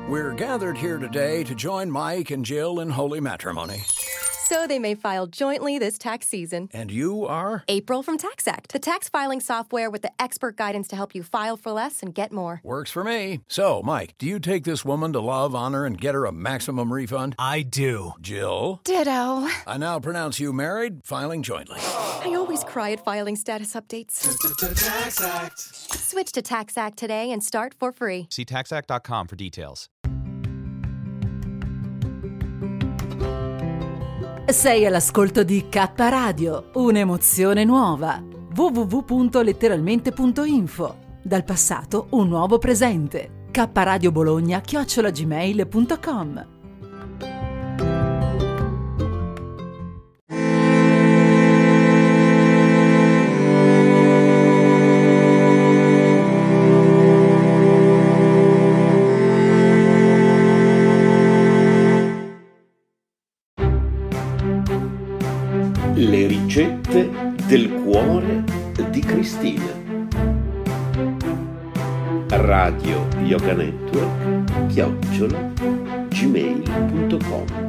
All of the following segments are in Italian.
We're gathered here today to join Mike and Jill in holy matrimony. So they may file jointly this tax season. And you are? April from TaxAct, the tax filing software with the expert guidance to help you file for less and get more. Works for me. So, Mike, do you take this woman to love, honor, and get her a maximum refund? I do. Jill? Ditto. I now pronounce you married, filing jointly. I always cry at filing status updates. TaxAct. Switch to TaxAct today and start for free. See taxact.com for details. Sei all'ascolto di K Radio, un'emozione nuova. www.letteralmente.info. Dal passato un nuovo presente. kradiobologna@gmail.com. Le ricette del cuore di Cristina. Radio Yoga Network @gmail.com.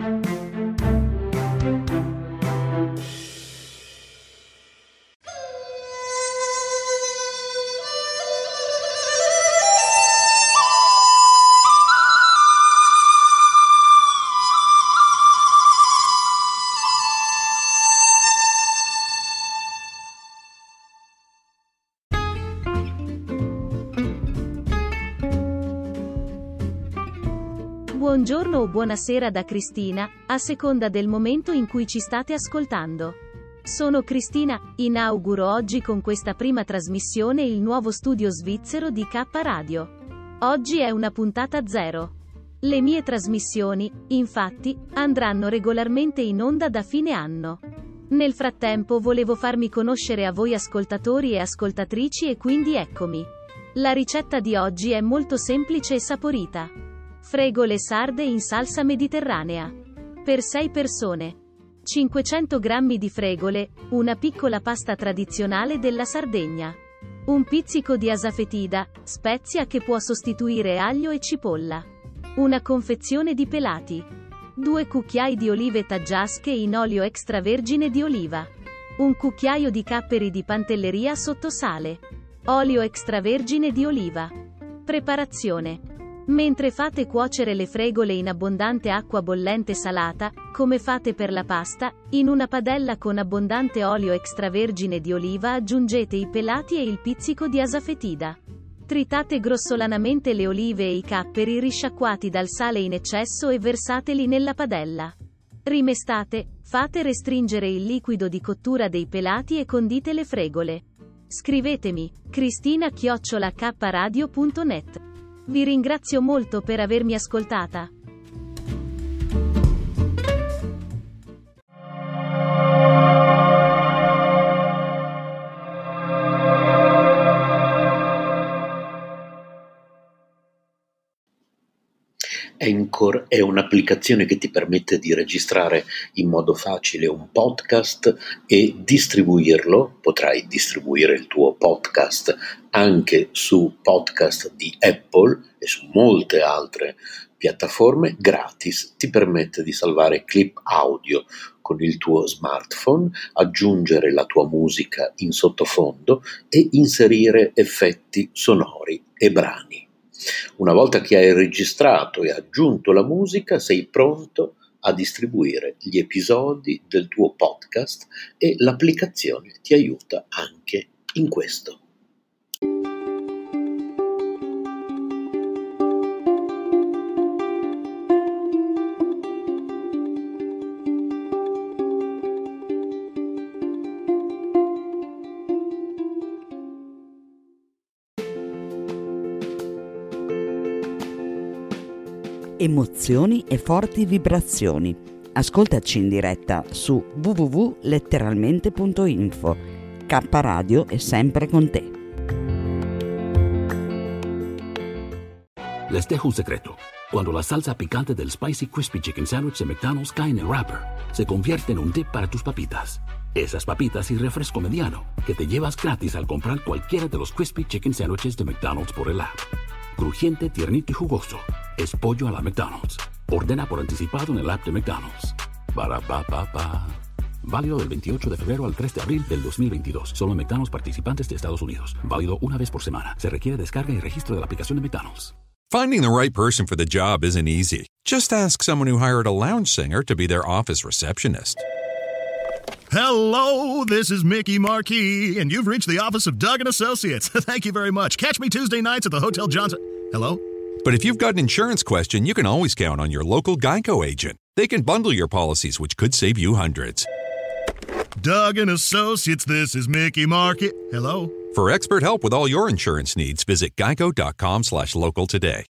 Buongiorno o buonasera da Cristina, a seconda del momento in cui ci state ascoltando. Sono Cristina, inauguro oggi con questa prima trasmissione il nuovo studio svizzero di K Radio. Oggi è una puntata zero. Le mie trasmissioni, infatti, andranno regolarmente in onda da fine anno. Nel frattempo volevo farmi conoscere a voi ascoltatori e ascoltatrici e quindi eccomi. La ricetta di oggi è molto semplice e saporita. Fregole sarde in salsa mediterranea. Per 6 persone. 500 g di fregole, una piccola pasta tradizionale della Sardegna. Un pizzico di asafetida, spezia che può sostituire aglio e cipolla. Una confezione di pelati. 2 cucchiai di olive taggiasche in olio extravergine di oliva. Un cucchiaio di capperi di pantelleria sotto sale. Olio extravergine di oliva. Preparazione. Mentre fate cuocere le fregole in abbondante acqua bollente salata, come fate per la pasta, in una padella con abbondante olio extravergine di oliva aggiungete i pelati e il pizzico di asafetida. Tritate grossolanamente le olive e i capperi risciacquati dal sale in eccesso e versateli nella padella. Rimestate, fate restringere il liquido di cottura dei pelati e condite le fregole. Scrivetemi, cristina@kradio.net. Vi ringrazio molto per avermi ascoltata. Anchor è un'applicazione che ti permette di registrare in modo facile un podcast e distribuirlo. Potrai distribuire il tuo podcast anche su podcast di Apple e su molte altre piattaforme gratis. Ti permette di salvare clip audio con il tuo smartphone, aggiungere la tua musica in sottofondo e inserire effetti sonori e brani. Una volta che hai registrato e aggiunto la musica, sei pronto a distribuire gli episodi del tuo podcast e l'applicazione ti aiuta anche in questo. Emozioni e forti vibrazioni. Ascoltaci in diretta su www.letteralmente.info. K Radio è sempre con te. Les dejo un secreto. Cuando la salsa picante del Spicy Crispy Chicken Sandwich de McDonald's cae en el wrapper, se convierte en un dip para tus papitas. Esas papitas y refresco mediano que te llevas gratis al comprar cualquiera de los Crispy Chicken Sandwiches de McDonald's por el app. Crujiente, tiernito y jugoso. es pollo a la McDonald's. Ordena por anticipado en el app de McDonald's. Ba, ba, ba, ba. Válido del 28 de febrero al 3 de abril del 2022. Solo en McDonald's participantes de Estados Unidos. Válido una vez por semana. Se requiere descarga y registro de la aplicación de McDonald's. Finding the right person for the job isn't easy. Just ask someone who hired a lounge singer to be their office receptionist. Hello, this is Mickey Marquis, and you've reached the office of Doug & Associates. Thank you very much. Catch me Tuesday nights at the Hotel Johnson. Hello? But if you've got an insurance question, you can always count on your local Geico agent. They can bundle your policies, which could save you hundreds. Doug & Associates, this is Mickey Marquis. Hello? For expert help with all your insurance needs, visit geico.com/local today.